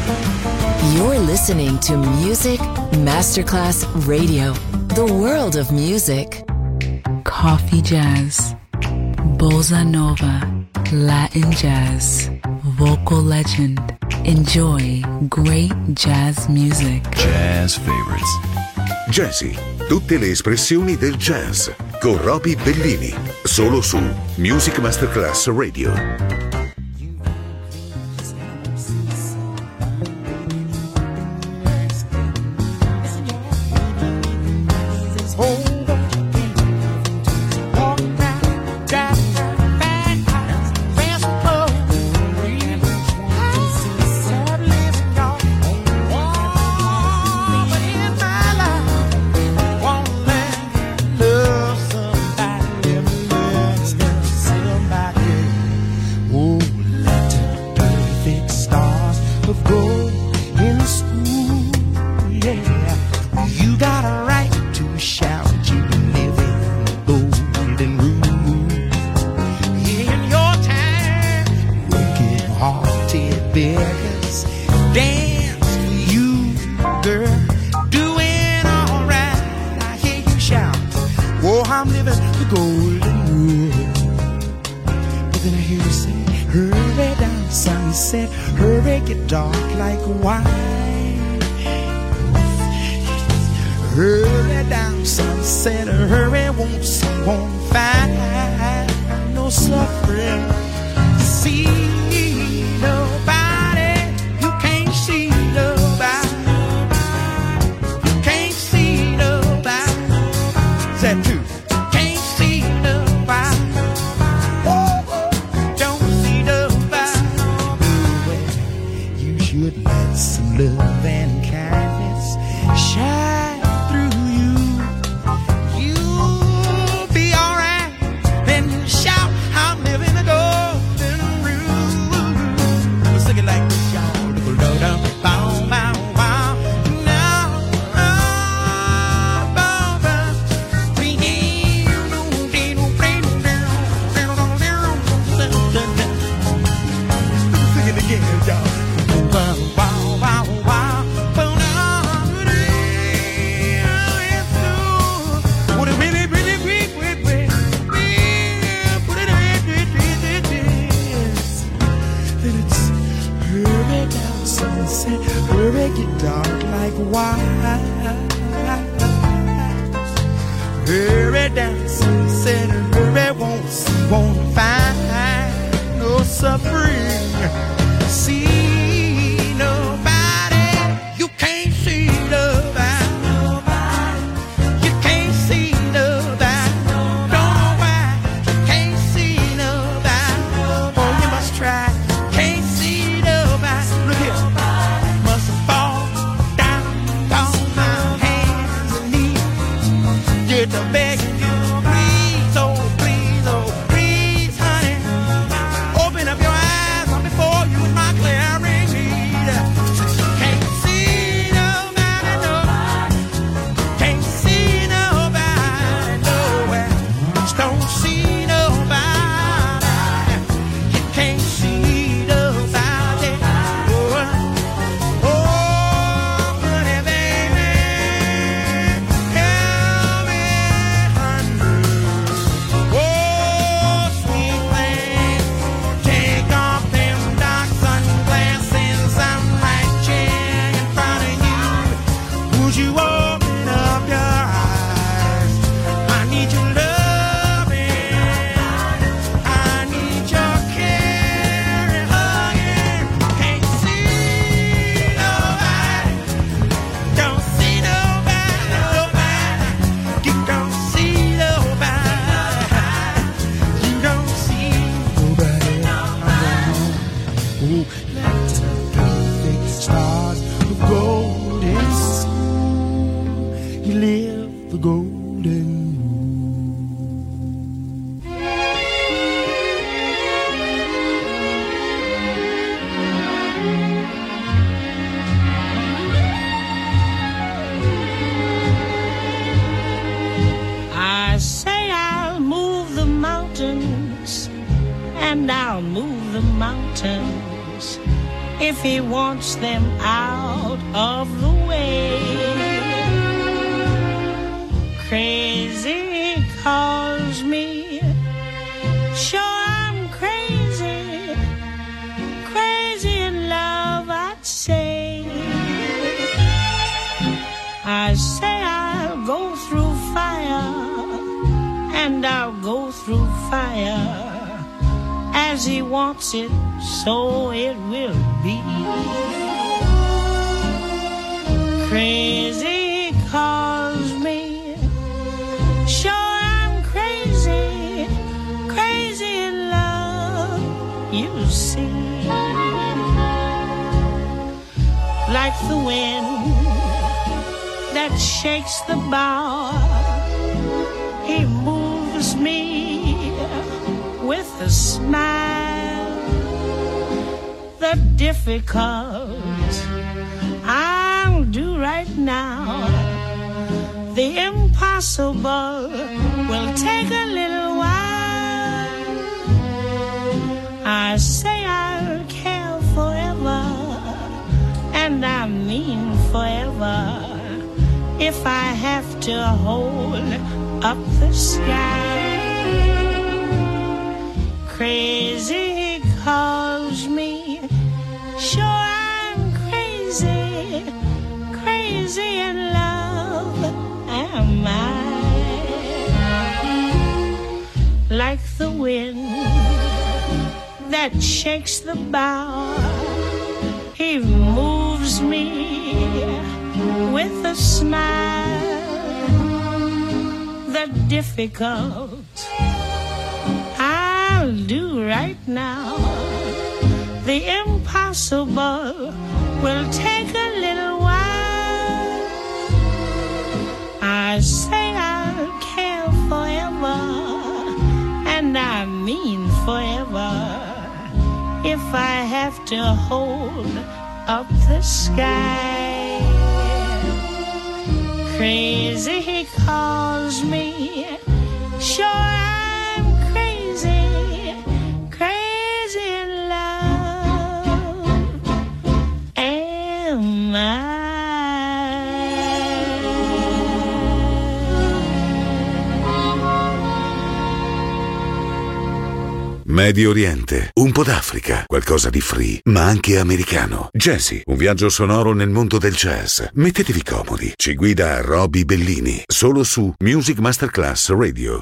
You're listening to Music Masterclass Radio, the world of music. Coffee jazz, bossa nova, Latin jazz, vocal legend. Enjoy great jazz music. Jazz favorites. Jazzy, tutte le espressioni del jazz, con Roby Bellini, solo su Music Masterclass Radio. if he wants them out of the way. Crazy calls me, sure I'm crazy, crazy in love I'd say. I say I'll go through fire, and I'll go through fire. As he wants it, so it will be. Crazy calls me, sure I'm crazy, crazy in love, you see. Like the wind that shakes the bough, he moves me with a smile. The difficult I'll do right now, the impossible will take a little while. I say I'll care forever, and I mean forever, if I have to hold up the sky. Crazy calls me, sure I'm crazy, crazy in love am I. Like the wind that shakes the bough, he moves me with a smile. The difficult I'll do right now, the impossible will take a little while. I say I'll care forever, and I mean forever, if I have to hold up the sky. Crazy he calls me, sure I'm crazy, crazy in love am I. Medio Oriente, un po' d'Africa, qualcosa di free, ma anche americano. Jazzy, un viaggio sonoro nel mondo del jazz. Mettetevi comodi. Ci guida Roby Bellini, solo su Music Masterclass Radio.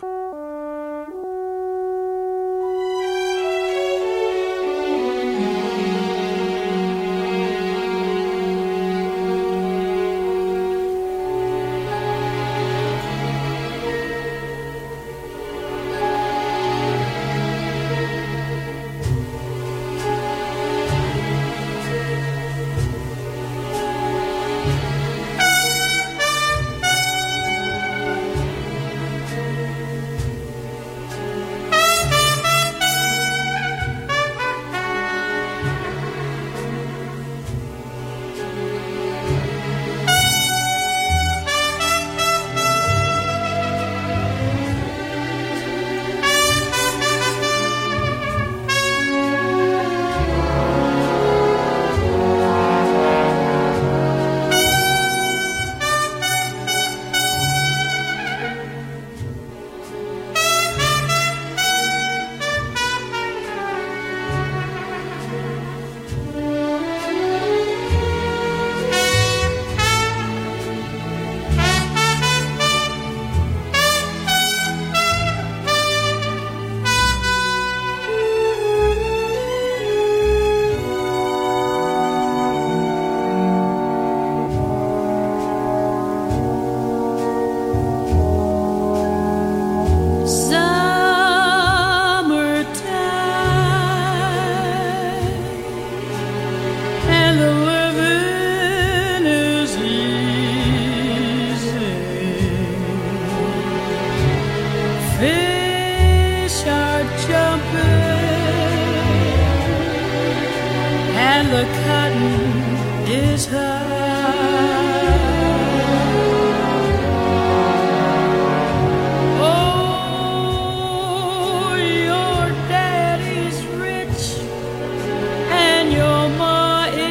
Your ma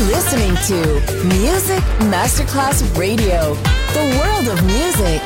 listening to Music Masterclass Radio, the world of music.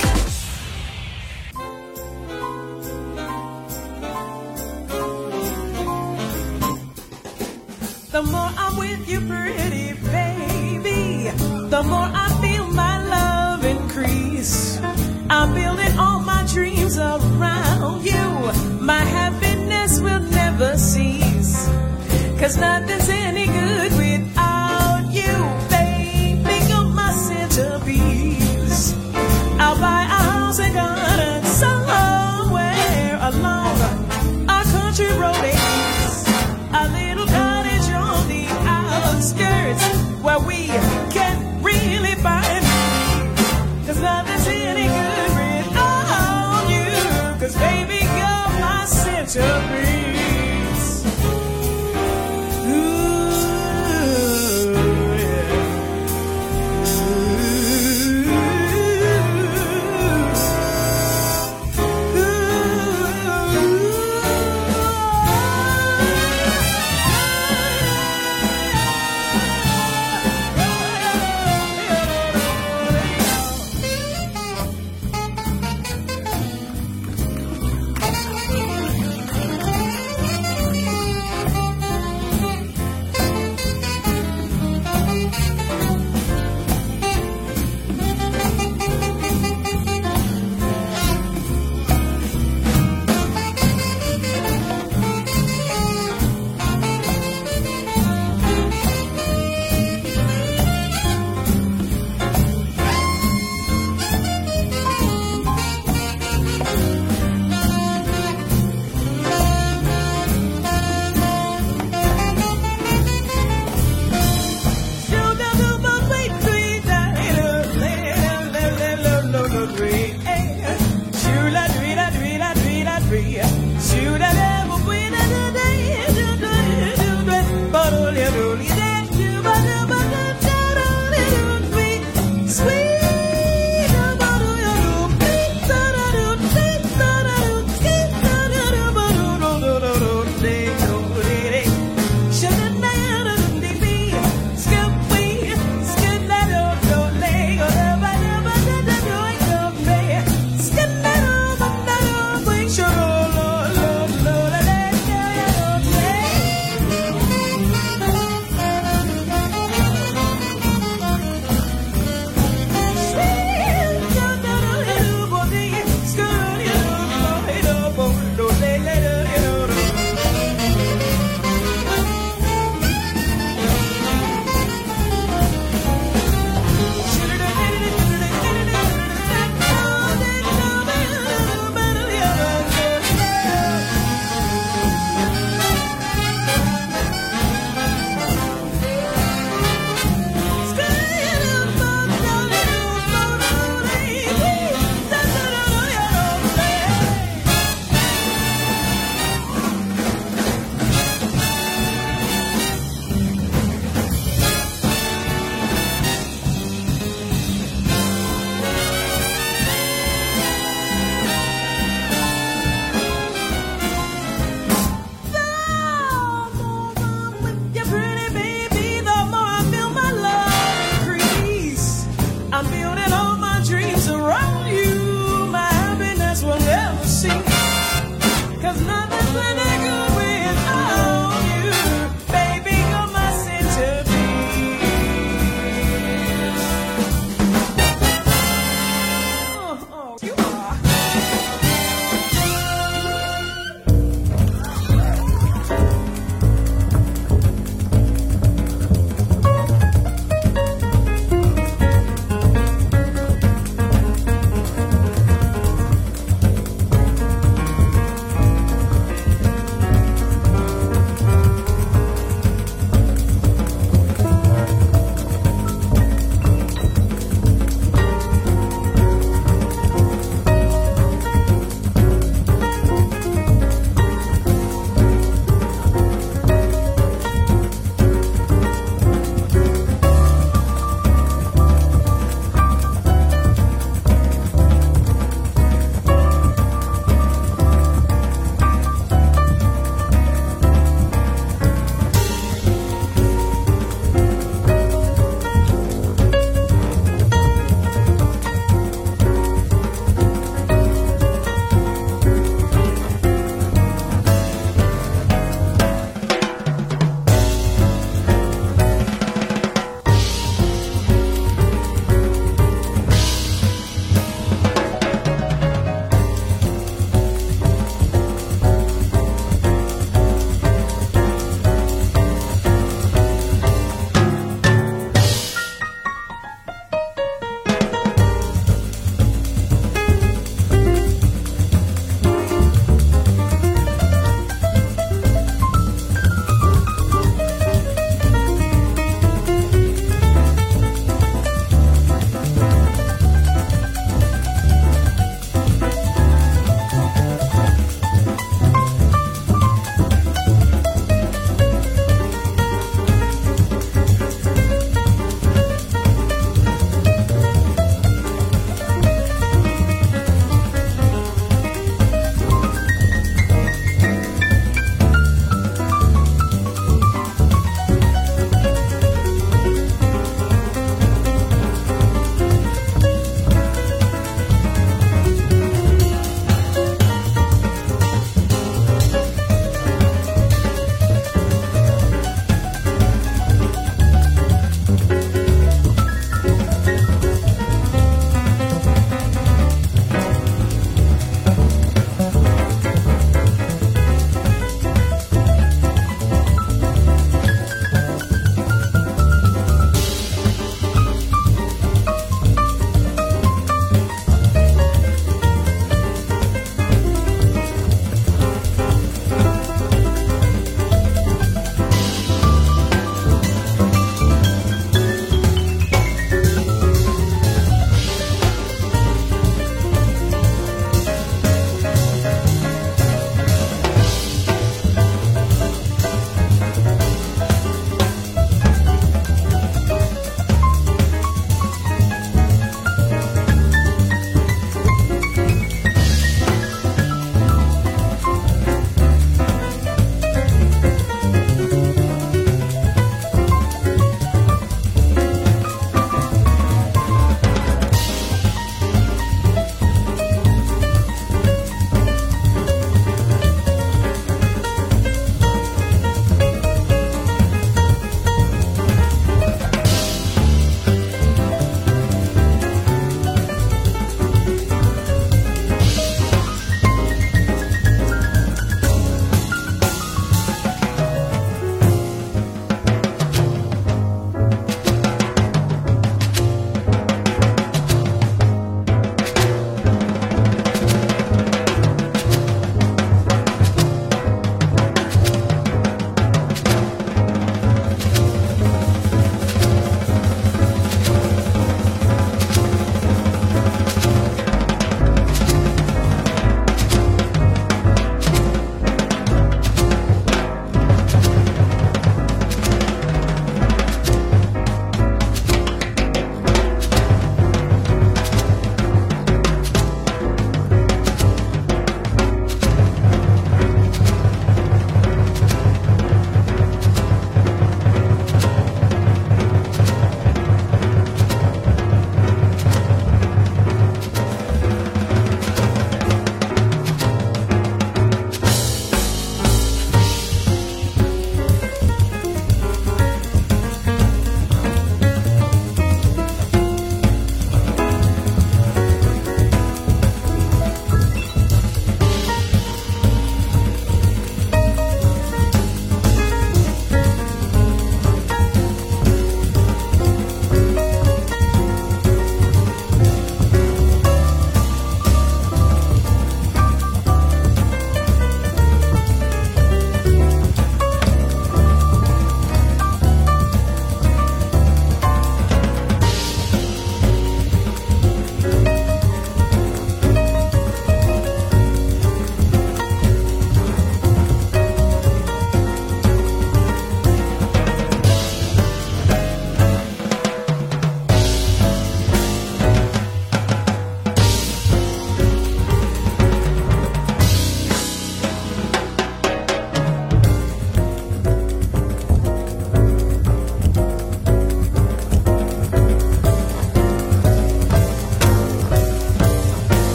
The more I'm with you, pretty baby, the more I feel my love increase. I'm building all my dreams around you. My happiness will never cease. 'Cause nothing's any good without you, baby. You're my centerpiece. I'll buy a house and garden somewhere along a country road. A little cottage on the outskirts where we can really find me. 'Cause nothing's any good without you. 'Cause baby, you're my centerpiece. Ooh.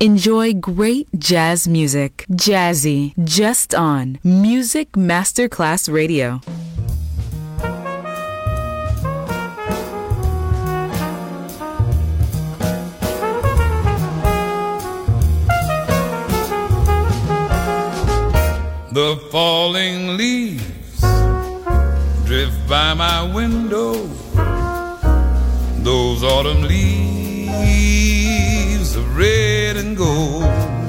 Enjoy great jazz music. Jazzy, just on Music Masterclass Radio. The falling leaves drift by my window. Those autumn leaves of red and gold.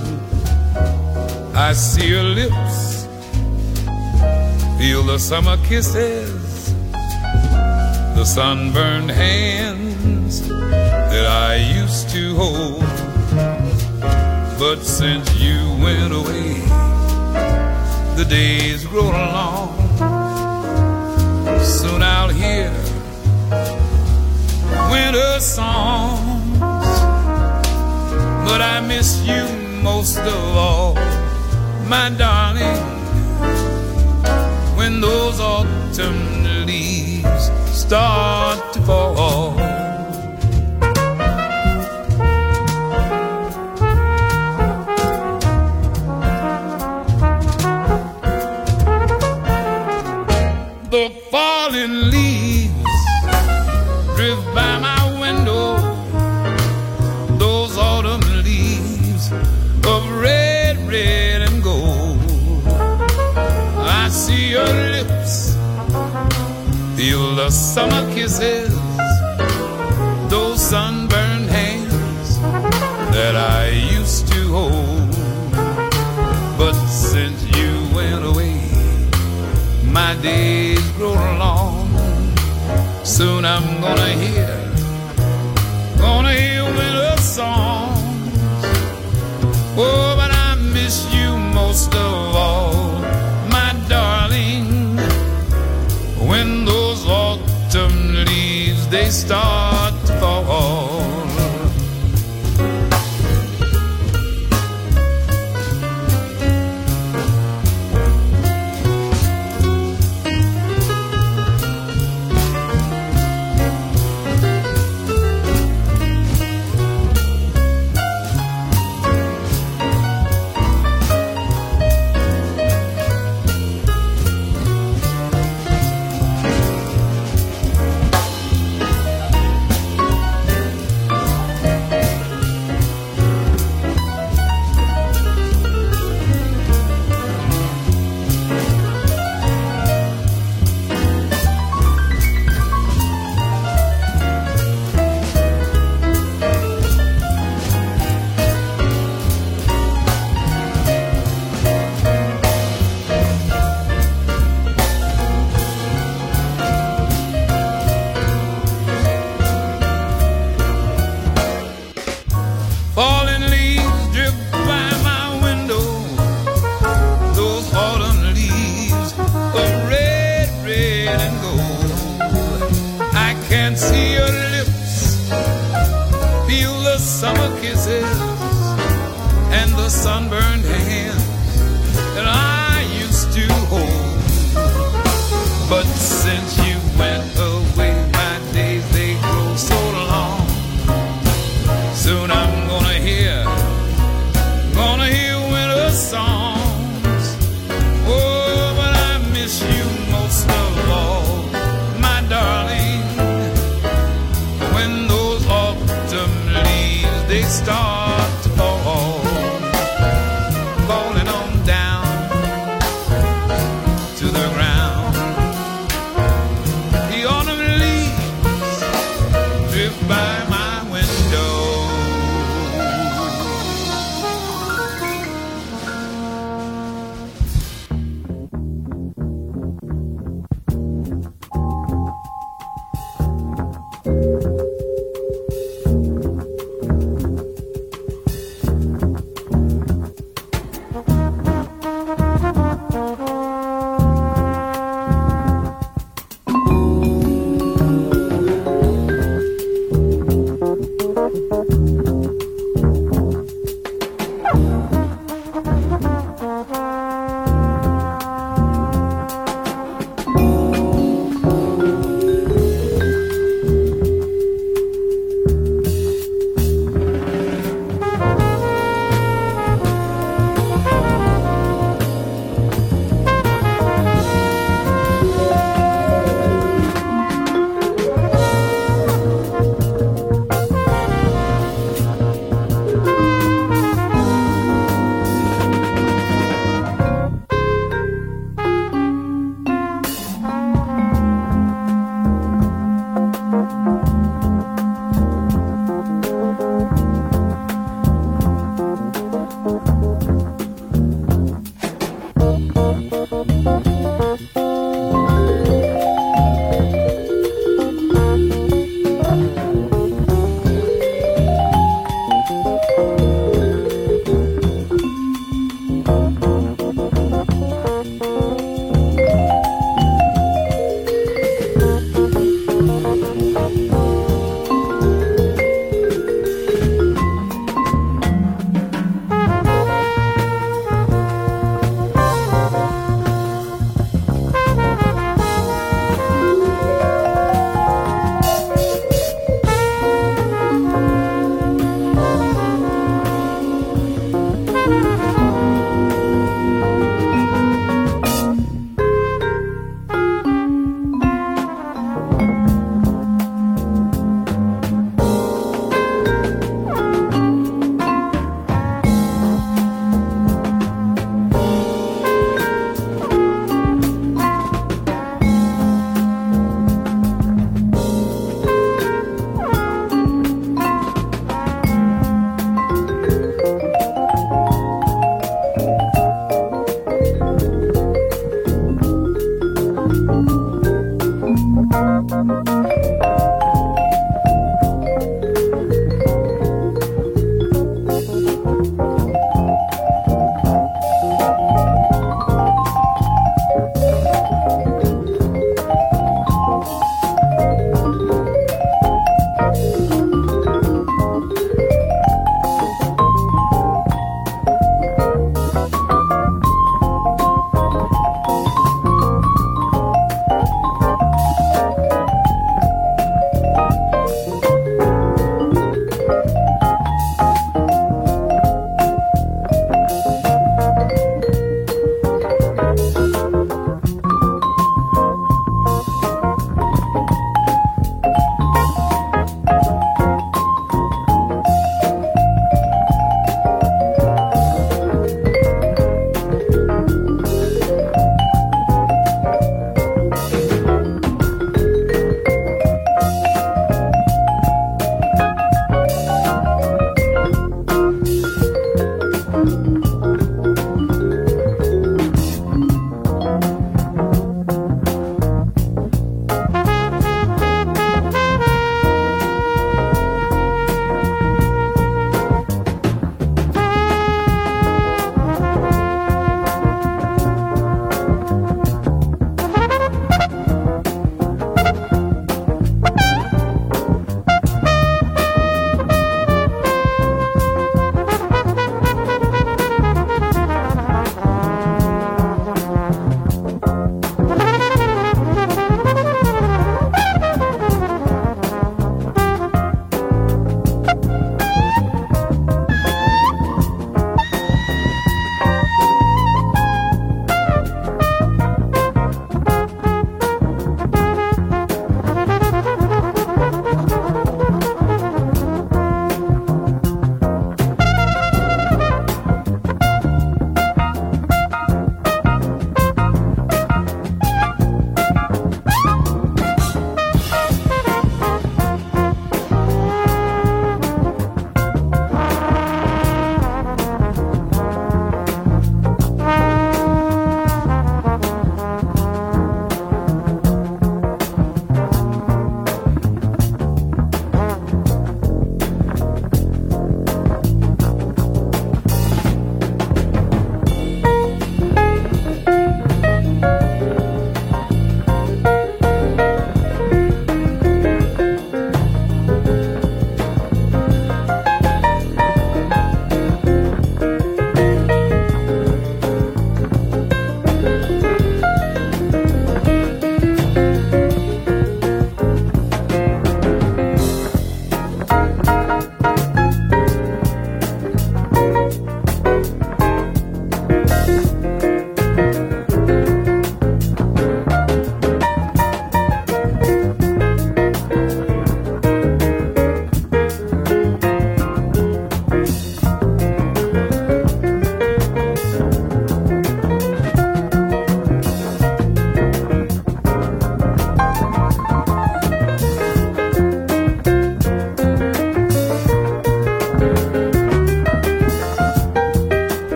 I see your lips, feel the summer kisses, the sunburned hands that I used to hold. But since you went away, the days grow long. Soon I'll hear winter songs, but I miss you most of all, my darling. When those autumn leaves start to fall, the falling leaves drift by my window. Those autumn leaves of red, red and gold. I see your lips, feel the summer kisses, those sunburned hands that I used to hold. But since you went away, my days grow long. Soon I'm gonna hear winter songs. Oh, but I miss you most of all, my darling. When those autumn leaves, they start to fall.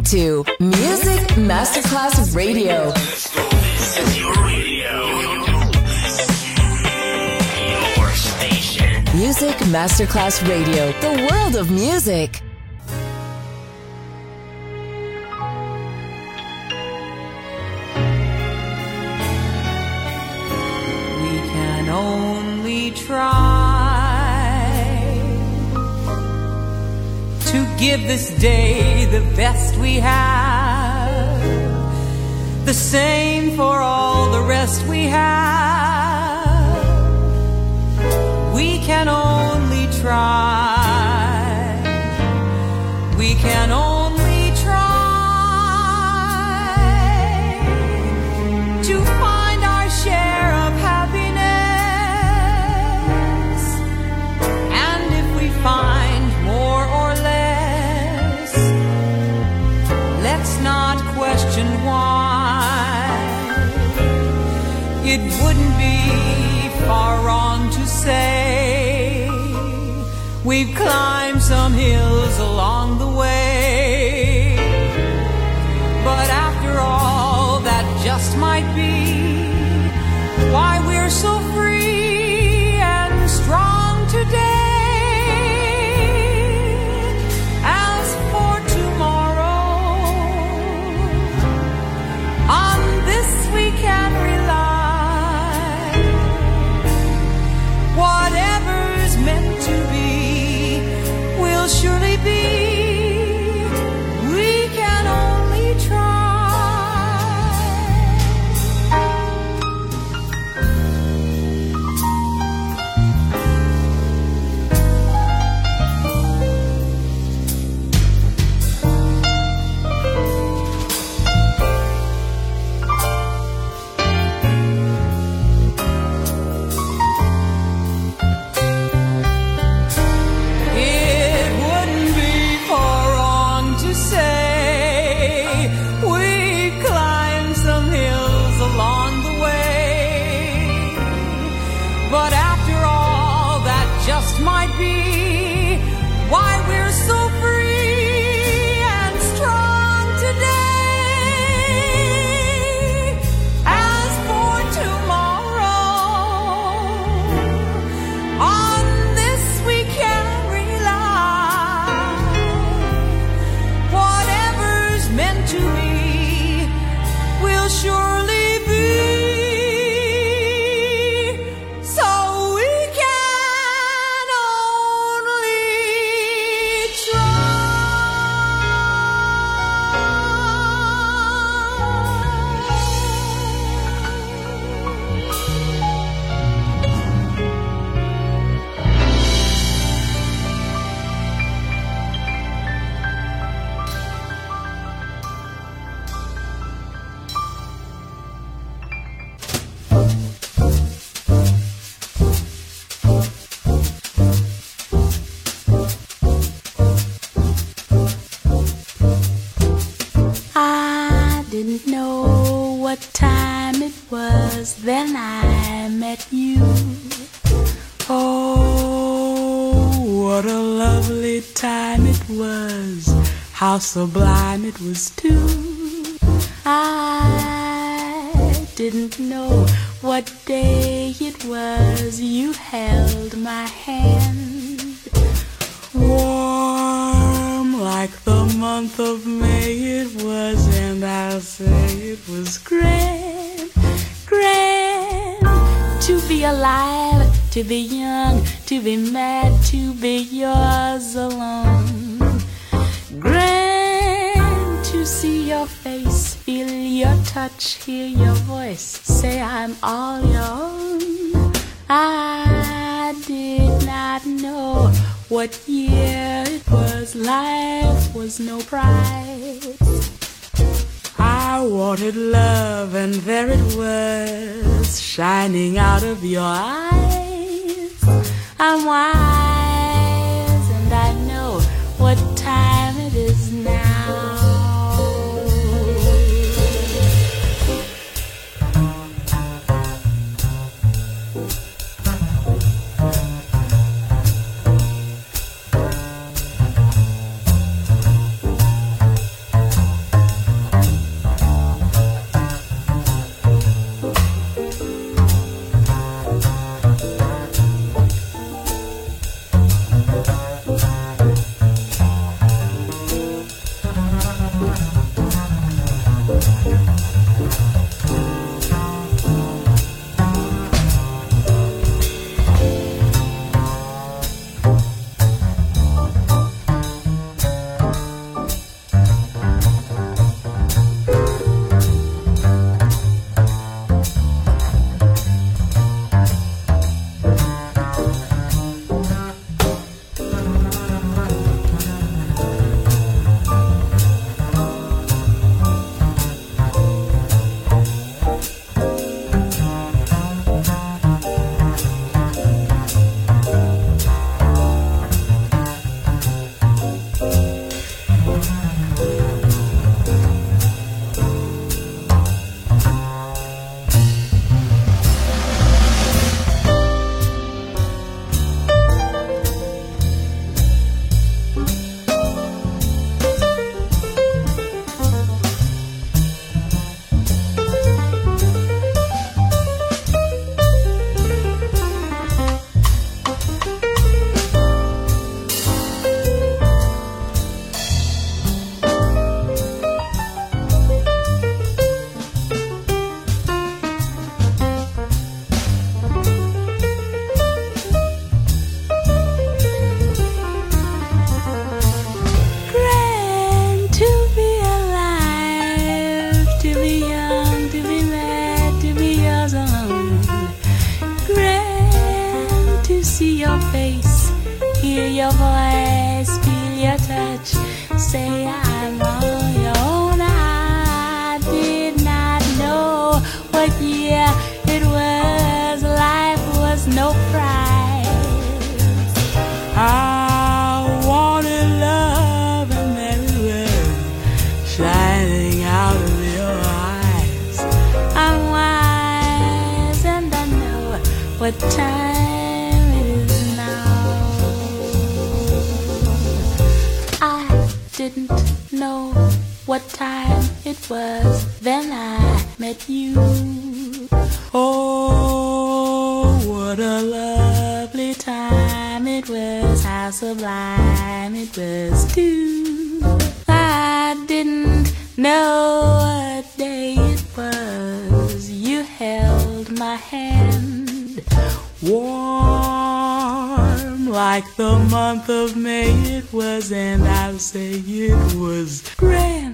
to Music Masterclass Radio. This is your radio. Your station. Music Masterclass Radio. The world of music. We can only try to give this day the best we have, the same for all the rest we have. We can only try. We can only try to find our share of happiness, and if we find more or less, let's not question why. It wouldn't be far wrong to say we've climbed some hills along the way, but after all, that just might be why we're so free and strong today. As for tomorrow, on this we can rely. Whatever's meant to be will surely be. We can only try. It wouldn't be far wrong to say we've climbed some hills along the way, but after all, that just might be why we're so free and strong today. As for tomorrow, on this we can rely. Whatever's meant to be will surely be. So we can only I didn't know what time it was, then I met you. Oh, what a lovely time it was, how sublime it was too. I didn't know what day it was, you held my hand. Warm like the month of May it was, and I'll say it was grand, grand to be alive, to be young, to be mad, to be yours alone. Grand to see your face, feel your touch, hear your voice, say I'm all your own. I did not know what year it was, life was no prize. I wanted love and there it was, shining out of your eyes. I'm wise and I know what time it is now. say I'm on your own. I did not know what year it was. Life was no prize. I wanted love and there it was, shining out of your eyes. I'm wise and I know what time it is now. I didn't know what time it was, then I met you. Oh, what a lovely time it was, how sublime it was too. I didn't know what day it was, you held my hand, warm like the month of May it was, and I'll say it was grand,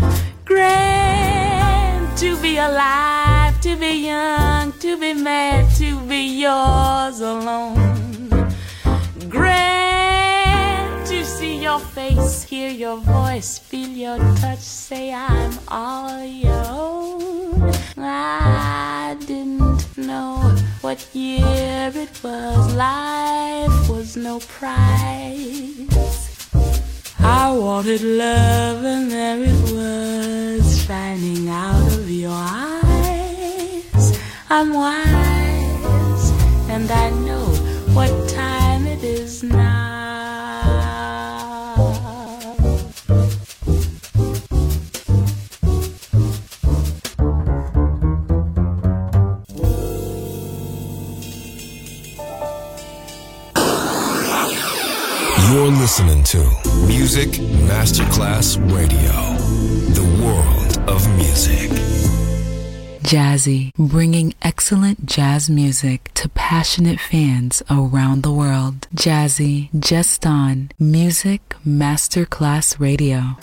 grand to be alive, to be young, to be mad, to be yours alone. Grand to see your face, hear your voice, feel your touch, say I'm all your own. I didn't know what year it was, life was no prize. I wanted love and there it was, shining out of your eyes. I'm wise and I know what time it is now. You're listening to Music Masterclass Radio, the world of music. Jazzy, bringing excellent jazz music to passionate fans around the world. Jazzy, just on Music Masterclass Radio.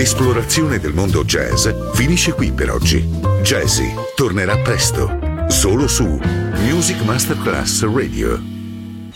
L'esplorazione del mondo jazz finisce qui per oggi. Jazzy tornerà presto, solo su Music Masterclass Radio.